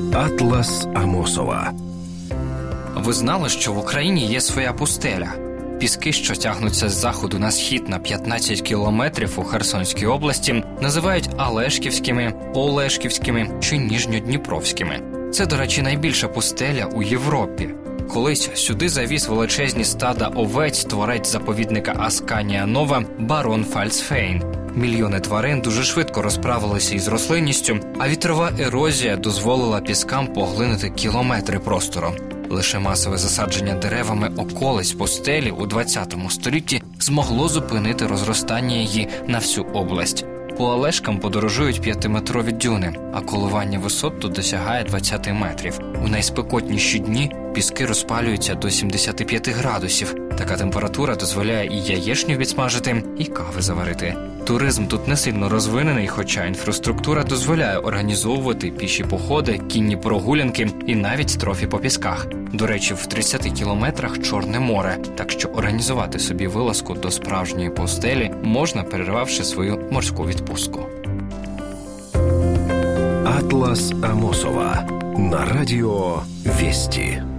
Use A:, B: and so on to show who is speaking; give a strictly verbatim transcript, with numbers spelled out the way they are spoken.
A: Атлас Амосова.
B: Ви знали, що в Україні є своя пустеля? Піски, що тягнуться з заходу на схід на п'ятнадцять кілометрів у Херсонській області, називають Алешківськими, Олешківськими чи Ніжньодніпровськими. Це, до речі, найбільша пустеля у Європі. Колись сюди завіз величезні стада овець творець заповідника Асканія Нова барон Фальцфейн. Мільйони тварин дуже швидко розправилися із рослинністю, а вітрова ерозія дозволила піскам поглинути кілометри простору. Лише масове засадження деревами околиць пустелі у двадцятому столітті змогло зупинити розростання її на всю область. По Алешкам подорожують п'ятиметрові дюни, а коливання висот тут досягає двадцять метрів. У найспекотніші дні піски розпалюються до сімдесят п'ять градусів. Така температура дозволяє і яєчню відсмажити, і кави заварити. Туризм тут не сильно розвинений, хоча інфраструктура дозволяє організовувати піші походи, кінні прогулянки і навіть трофі по пісках. До речі, в тридцяти кілометрах Чорне море, так що організувати собі вилазку до справжньої пустелі можна, перервавши свою морську відпустку.
A: Атлас Амосова на радіо Вести.